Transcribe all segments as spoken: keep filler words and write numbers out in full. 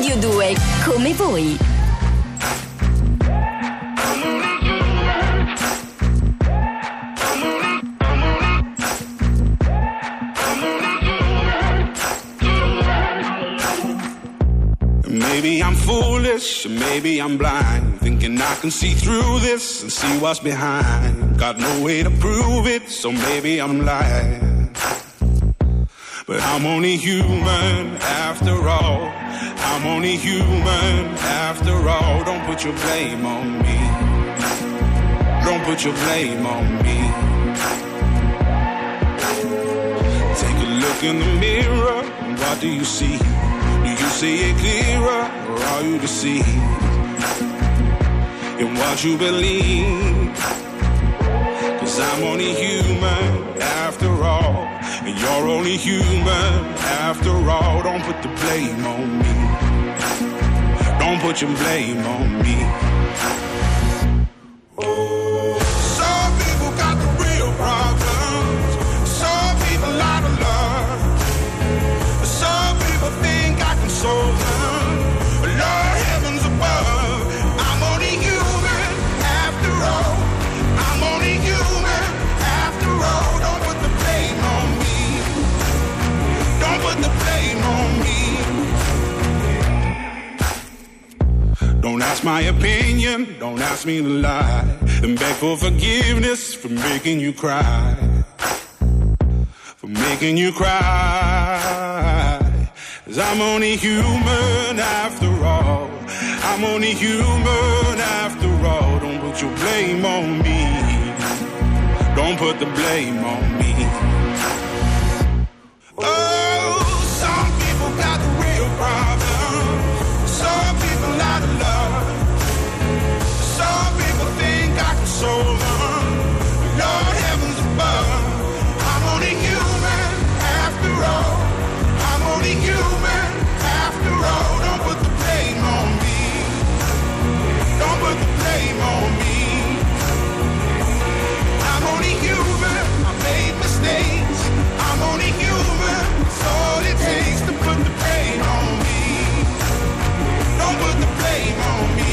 Radio due, come voi. Maybe I'm foolish, maybe I'm blind, thinking I can see through this and see what's behind. Got no way to prove it, so maybe I'm lying. But I'm only human after all. I'm only human after all. Don't put your blame on me. Don't put your blame on me. Take a look in the mirror, what do you see? Do you see it clearer, or are you deceived in what you believe? 'Cause I'm only human after all, and you're only human after all. Don't put the blame on me. Don't put your blame on me. Oh, some people got the real problems. Some people out of love. Some people think I can solve them. Lord heavens above, I'm only human after all. I'm only human after all. Don't put the blame on me. Don't put the blame on me. Don't ask my opinion, don't ask me to lie, and beg for forgiveness for making you cry, for making you cry. 'Cause I'm only human after all. I'm only human after all. Don't put your blame on me. Don't put the blame on me. Oh, some people got the real problem. Some people out of love. Some people think I can solve them. Lord heavens above, I'm only human after all. I'm only human after all. Don't put the blame on me. Don't put the blame on me. I'm only human. I made mistakes. I'm only human. It's all it takes to put the blame on me. Don't put the blame on me.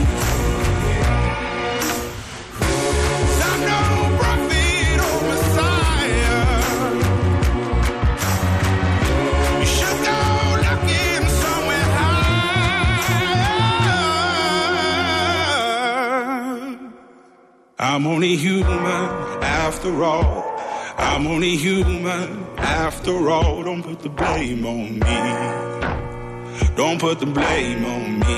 'Cause I'm no prophet or Messiah. You should go looking somewhere high. I'm only human after all. I'm only human after all. Don't put the blame on me. Don't put the blame on me.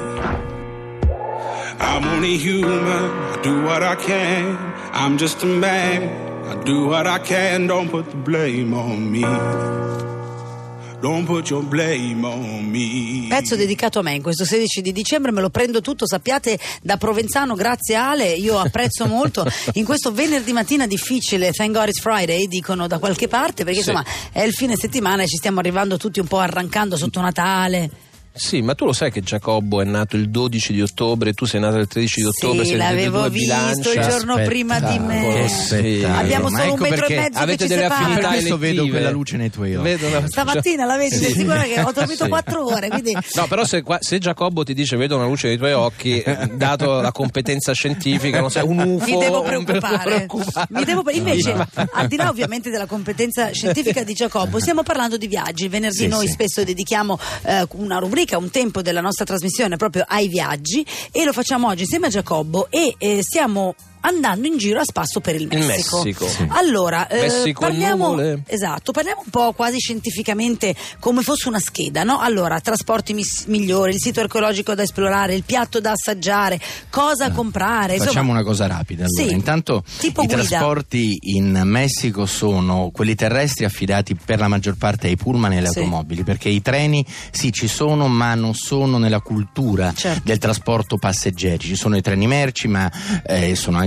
I'm only human. I do what I can. I'm just a man. I do what I can. Don't put the blame on me. Don't put your blame on me. Pezzo dedicato a me in questo sedici di dicembre, me lo prendo tutto, sappiate, da provenzano, grazie Ale, io apprezzo molto in questo venerdì mattina difficile, thank God it's Friday, dicono da qualche parte, perché sì, insomma è il fine settimana e ci stiamo arrivando tutti un po' arrancando sotto Natale. Sì, ma tu lo sai che Giacobbo è nato il dodici di ottobre, tu sei nato il tredici di ottobre, sì, l'avevo visto bilancia. il giorno Aspetta, prima di me. Sì. Abbiamo ma solo ecco un metro perché e mezzo avete che ci delle separa. affinità Per questo vedo elettive. quella luce nei tuoi occhi. Vedo una- Stamattina la vedi, Sì. sei sicura che ho dormito Sì. quattro ore, quindi... No, però se, qua- se Giacobbo ti dice vedo una luce nei tuoi occhi, eh, dato la competenza scientifica, non sai, un U F O, mi devo un- preoccupare, preoccupare. Mi devo, invece al di là ovviamente della competenza scientifica di Giacobbo, stiamo parlando di viaggi. Il venerdì Sì, noi sì. spesso dedichiamo eh, una rubrica, un tempo della nostra trasmissione proprio ai viaggi, e lo facciamo oggi insieme a Giacobbo e eh, stiamo andando in giro a spasso per il Il Messico. Messico. Sì. Allora, eh, Messico e parliamo, nuvole. esatto, parliamo un po' quasi scientificamente come fosse una scheda, no? Allora, trasporti mis- migliori, il sito archeologico da esplorare, il piatto da assaggiare, cosa Ah, comprare. Facciamo insomma, una cosa rapida. Allora, sì, intanto tipo i guida. trasporti in Messico sono quelli terrestri affidati per la maggior parte ai pullman e alle Sì. automobili, perché i treni sì ci sono, ma non sono nella cultura Certo. del trasporto passeggeri. Ci sono i treni merci, ma eh, sono anche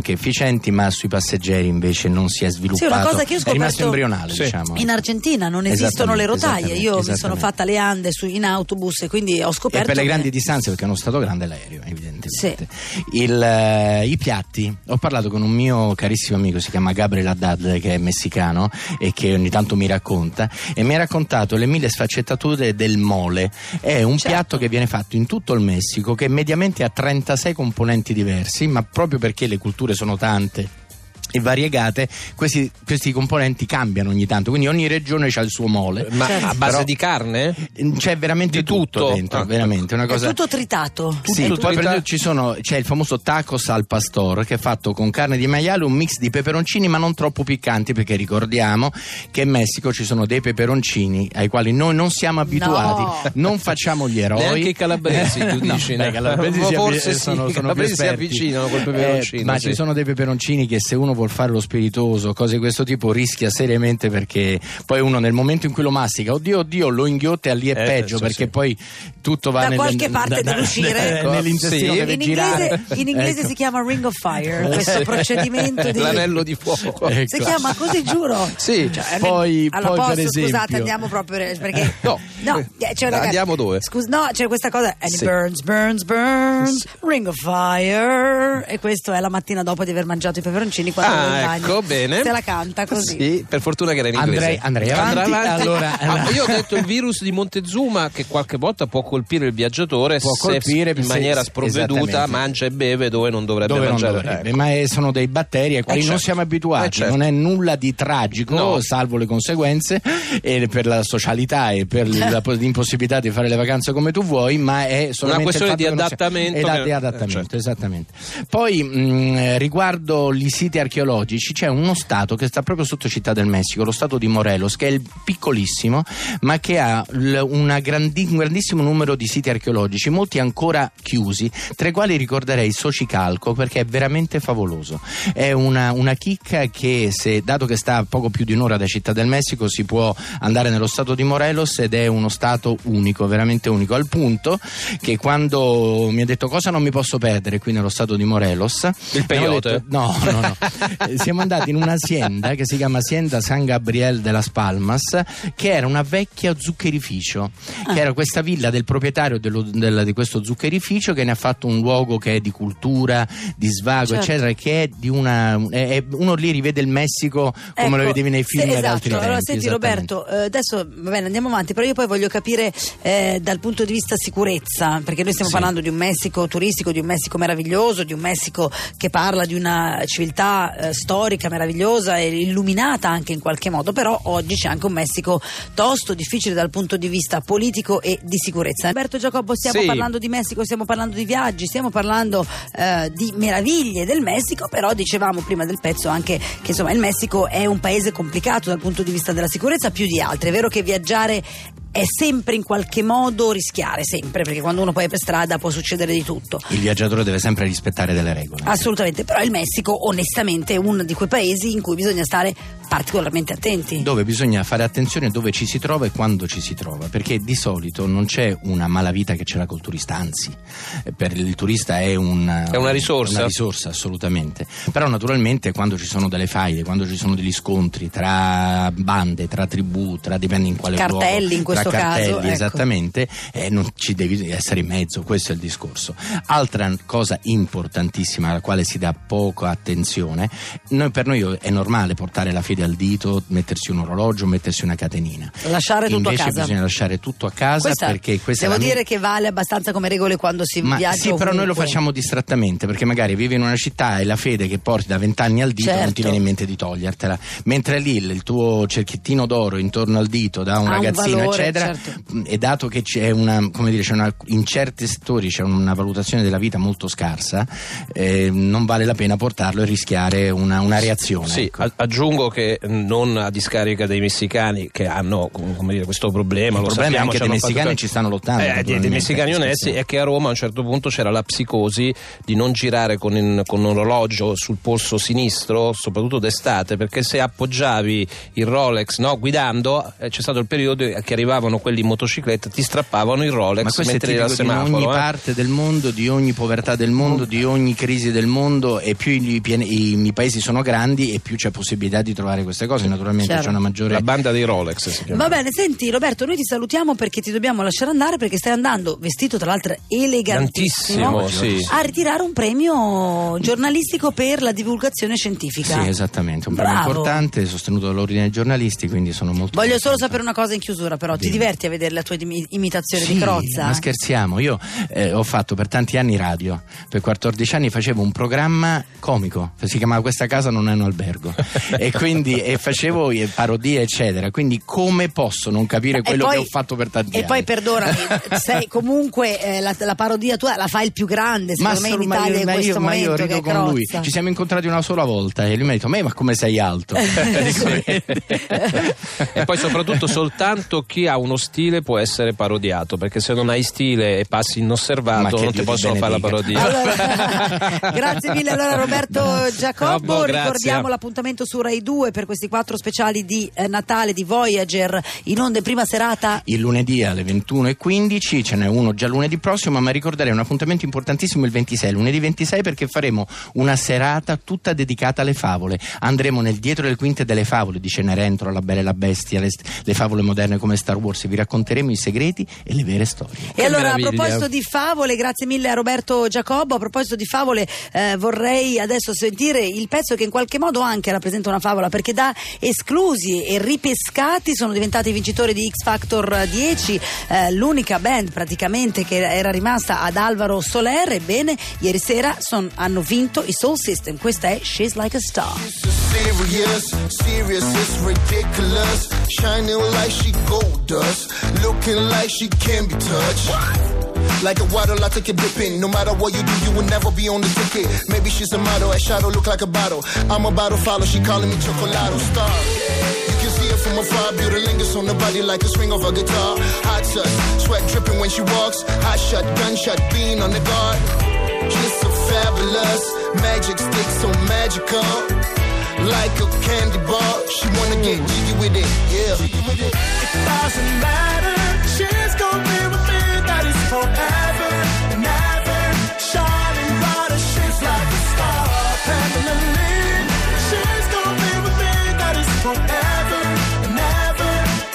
anche efficienti, ma sui passeggeri invece non si è sviluppato. Sì, una cosa che io ho è rimasto scoperto embrionale, sì. diciamo. In Argentina non esistono le rotaie, io mi sono fatta le ande su, in autobus e quindi ho scoperto e per le che... grandi distanze, perché è uno stato grande l'aereo, evidentemente. Sì. Il, eh, i piatti, ho parlato con un mio carissimo amico, si chiama Gabriel Haddad, che è messicano e che ogni tanto mi racconta, e mi ha raccontato le mille sfaccettature del mole. È un certo. piatto che viene fatto in tutto il Messico, che mediamente ha trentasei componenti diversi, ma proprio perché le culture sono tante e variegate, questi, questi componenti cambiano ogni tanto, quindi ogni regione ha il suo mole. Ma Certo. a base Però di carne? c'è veramente Di tutto, tutto? dentro, Ah, veramente una cosa. È tutto tritato. Sì, È poi tutto- per esempio ci sono, c'è il famoso tacos al pastor, che è fatto con carne di maiale, un mix di peperoncini ma non troppo piccanti, perché ricordiamo che in Messico ci sono dei peperoncini ai quali noi non siamo abituati, No. non facciamo gli eroi. Neanche i calabresi, tu No, dici, beh, no? i calabresi si Forse avvi- sì, sono, i sono calabresi più si esperti. avvicinano col peperoncino, Eh, ma sì. ci sono dei peperoncini che se uno vuol fare lo spiritoso, cose di questo tipo, rischia seriamente, perché poi uno nel momento in cui lo mastica, oddio oddio, lo inghiotte e lì è Eh, peggio, sì, perché sì. poi tutto va Da nel, qualche parte deve uscire. eh, nell'intestino Sì. deve in girare. inglese, in inglese Ecco. si chiama Ring of Fire, questo procedimento di... L'anello di fuoco. Ecco. Si chiama così, giuro. Sì. Cioè, Poi- allora, poi, posso, per esempio- scusate, andiamo proprio perché No. no, c'è una- Andiamo dove? Scusa, no, c'è questa cosa and it Sì. burns, burns, burns, Ring of Fire, e questo è la mattina dopo di aver mangiato i peperoncini quando Ah, va in bagno. ecco, bene. Se la canta così. Sì, per fortuna che era in inglese. Andrei- andrei Andrà avanti, allora- Ah, io ho detto il virus di Montezuma, che qualche volta può colpire il viaggiatore Può se colpire, in se- maniera sprovveduta esattamente. mangia e beve dove non dovrebbe Dove non mangiare. dovrebbe, Ecco. ma è- sono dei batteri ai quali Eh, non certo. siamo abituati, Eh, certo. non è nulla di tragico, No. salvo le conseguenze e per la socialità e per la po- l'impossibilità di fare le vacanze come tu vuoi, ma è solamente questione il fatto di che non sia- adattamento Eda- che- di adattamento, eh, certo. esattamente. Poi mh, riguardo i siti archeologici, c'è uno stato che sta proprio sotto Città del Messico, lo stato di Morelos, che è il piccolissimo, ma che ha l- una grandi- un grandissimo numero di siti archeologici, molti ancora chiusi, tra i quali ricorderei Xochicalco, perché è veramente favoloso. È una, una chicca che, se, dato che sta a poco più di un'ora da Città del Messico, si può andare nello stato di Morelos, ed è uno stato unico, veramente unico, al punto che quando mi ha detto cosa non mi posso perdere qui nello stato di Morelos, Il mi hanno peyote? detto- no, no, no. Eh, siamo andati in un'azienda che si chiama Hacienda San Gabriel de las Palmas, che era una vecchia zuccherificio, che era questa villa del proprietario dello- del- di questo zuccherificio, che ne ha fatto un luogo che è di cultura, di svago, Certo. eccetera, che è di una è- è- uno lì rivede il Messico come Ecco, lo vedevi nei film sì, ad esatto. altri Allora, tempi. senti esattamente. Roberto, eh, adesso va bene, andiamo avanti, però io poi voglio capire eh, dal punto di vista sicurezza, perché noi stiamo Sì. parlando di un Messico turistico, di un Messico meraviglioso, di un Messico che parla di una civiltà eh, storica meravigliosa e illuminata anche in qualche modo, però oggi c'è anche un Messico tosto, difficile dal punto di vista politico e di sicurezza. Alberto Giacobbo, stiamo Sì. parlando di Messico, stiamo parlando di viaggi, stiamo parlando eh, di meraviglie del Messico, però dicevamo prima del pezzo anche che insomma il Messico è un paese complicato dal punto di vista della sicurezza più di altri. È vero che viaggiare è sempre in qualche modo rischiare, sempre, perché quando uno poi è per strada può succedere di tutto. Il viaggiatore deve sempre rispettare delle regole. Assolutamente, però il Messico onestamente è uno di quei paesi in cui bisogna stare particolarmente attenti. Dove bisogna fare attenzione dove ci si trova e quando ci si trova, perché di solito non c'è una malavita che ce l'ha col turista, anzi eh, per il turista è, un, È una risorsa. una risorsa assolutamente. Però naturalmente quando ci sono delle faide, quando ci sono degli scontri tra bande, tra tribù, tra dipende in quale Cartelli, luogo, in questo tra cartelli, caso, ecco. esattamente, eh, non ci devi essere in mezzo, questo è il discorso. Altra cosa importantissima alla quale si dà poca attenzione, noi, per noi è normale portare la fede al dito, mettersi un orologio, mettersi una catenina. Lasciare tutto Invece a casa. bisogna lasciare tutto a casa, Questa, perché questa devo è la dire che vale abbastanza come regole quando si ma viaggia sì, però noi lo ovunque. facciamo distrattamente, perché magari vivi in una città e la fede che porti da vent'anni al dito non Certo. ti viene in mente di togliertela, mentre lì il tuo cerchiettino d'oro intorno al dito da un Ha un ragazzino valore, eccetera, certo. e dato che c'è una, come dire, c'è una, in certi settori c'è una valutazione della vita molto scarsa, eh, non vale la pena portarlo e rischiare una, una reazione. Sì, ecco. a- aggiungo che anche non a discarica dei messicani che hanno, come dire, questo problema. Il lo problema sappiamo, è che dei messicani fatto... ci stanno lottando. Eh, dei, dei messicani onesti, è che a Roma a un certo punto c'era la psicosi di non girare con, in, con un orologio sul polso sinistro, soprattutto d'estate, perché se appoggiavi il Rolex, no, guidando, eh, c'è stato il periodo che arrivavano quelli in motocicletta, ti strappavano il Rolex mentre eri al semaforo. Di ogni eh. parte del mondo, di ogni povertà del mondo, di ogni crisi del mondo, e più i, i, i paesi sono grandi e più c'è possibilità di trovare queste cose. Naturalmente Chiaro. c'è una maggiore... La banda dei Rolex si chiama. Va bene, senti Roberto, noi ti salutiamo perché ti dobbiamo lasciare andare, perché stai andando vestito tra l'altro elegantissimo Tantissimo, sì. a ritirare un premio giornalistico per la divulgazione scientifica. Sì, esattamente, un premio Bravo. importante sostenuto dall'ordine dei giornalisti, quindi sono molto Voglio contento. solo sapere una cosa in chiusura, però Bene. ti diverti a vedere la tua imi- imitazione Sì, di Crozza? ma scherziamo, io eh, ho fatto per tanti anni radio, per quattordici anni facevo un programma comico, si chiamava Questa casa non è un albergo e quindi e facevo eh, parodie eccetera, quindi come posso non capire quello poi, che ho fatto per tanti e anni? poi perdonami, sei comunque eh, la, la parodia tua la fai il più grande secondo me in solo- ma Italia io, in ma questo io, ma io momento, rido che è con lui, Crozza. ci siamo incontrati una sola volta e lui mi ha detto ma, ma come sei alto? E poi soprattutto soltanto chi ha uno stile può essere parodiato, perché se non hai stile e passi Ma inosservato che non Dio ti ti possono fare la benedica. parodia. Allora, grazie mille allora Roberto Giacobbo, Giacobbo, grazie. ricordiamo l'appuntamento su Rai due per questi quattro speciali di eh, Natale di Voyager in onda in prima serata. Il lunedì alle ventuno e quindici, ce n'è uno già lunedì prossimo, ma ricorderei un appuntamento importantissimo il ventisei, lunedì ventisei, perché faremo una serata tutta dedicata alle favole. Andremo nel dietro le quinte delle favole di Cenerentola, La Bella e la Bestia, le, le favole moderne come Star Wars, vi racconteremo i segreti e le vere storie. E Che allora meraviglia. a proposito di favole, grazie mille a Roberto Giacobbo, a proposito di favole eh, vorrei adesso sentire il pezzo che in qualche modo anche rappresenta una favola, perché da esclusi e ripescati sono diventati vincitori di X Factor dieci, eh, l'unica band praticamente che era rimasta ad Alvaro Soler. Ebbene, ieri sera son, hanno vinto i Soul System. Questa è She's Like a Star. Serious, serious, it's ridiculous. Shining like she gold dust, looking like she can be touched. Like a water, I take it dipping. No matter what you do, you will never be on the ticket. Maybe she's a model, a shadow look like a bottle. I'm a bottle follow, she calling me Chocolado Star. You can see it from afar, beauty lingers on the body like a string of a guitar. Hot touch, sweat dripping when she walks. Hot shot, gunshot, being on the guard. She's so fabulous, magic stick so magical. Like a candy bar, she wanna get jiggy with it, yeah. It doesn't matter, she's gonna be with me, that is forever and ever. Shining brighter, she's like a star. Pamela Lee, she's gonna be with me, that is forever and ever.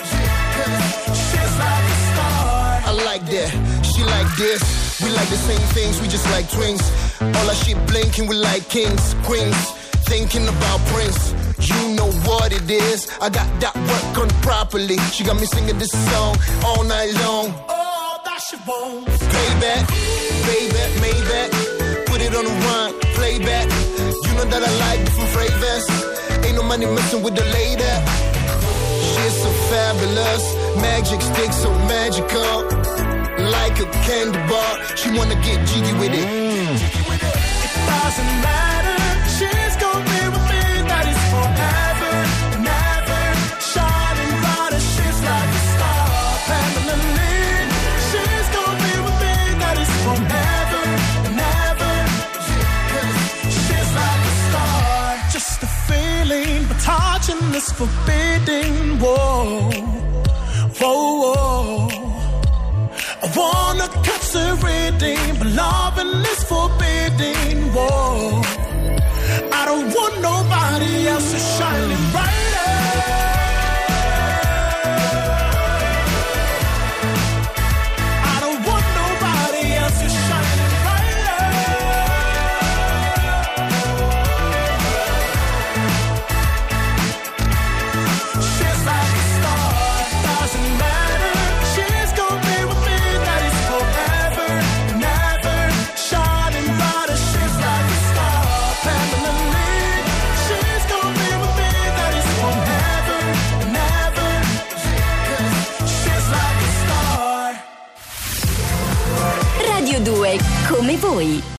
She's like a star. I like that, she like this. We like the same things, we just like twins. All our shit blinking, we like kings, queens. Thinking about Prince, you know what it is. I got that work on properly. She got me singing this song all night long. Oh, that she won't. Payback, payback, Maybach. Put it on the run, playback. You know that I like different flavors. Ain't no money messing with the lady. She's so fabulous, magic stick so magical. Like a candy bar, she wanna get jiggy with it. It doesn't matter, she's gonna be with me, that is forever and ever. Shining brighter, she's like a star. Pamela Lee, she's gonna be with me, that is forever and ever. She's like a star. Just a feeling, but touching this forbidden. Whoa, whoa, whoa. I wanna catch the reading, but loving is forbidden. Whoa, I don't want nobody else to shining brighter. I don't want nobody else to shining brighter. She's like a star, doesn't matter. She's gonna be with me, that is forever and ever. Shining brighter, she's like a star. Pamela Lee, she's gonna be with me, that is forever and ever. She's like a star. Radio due, come voi.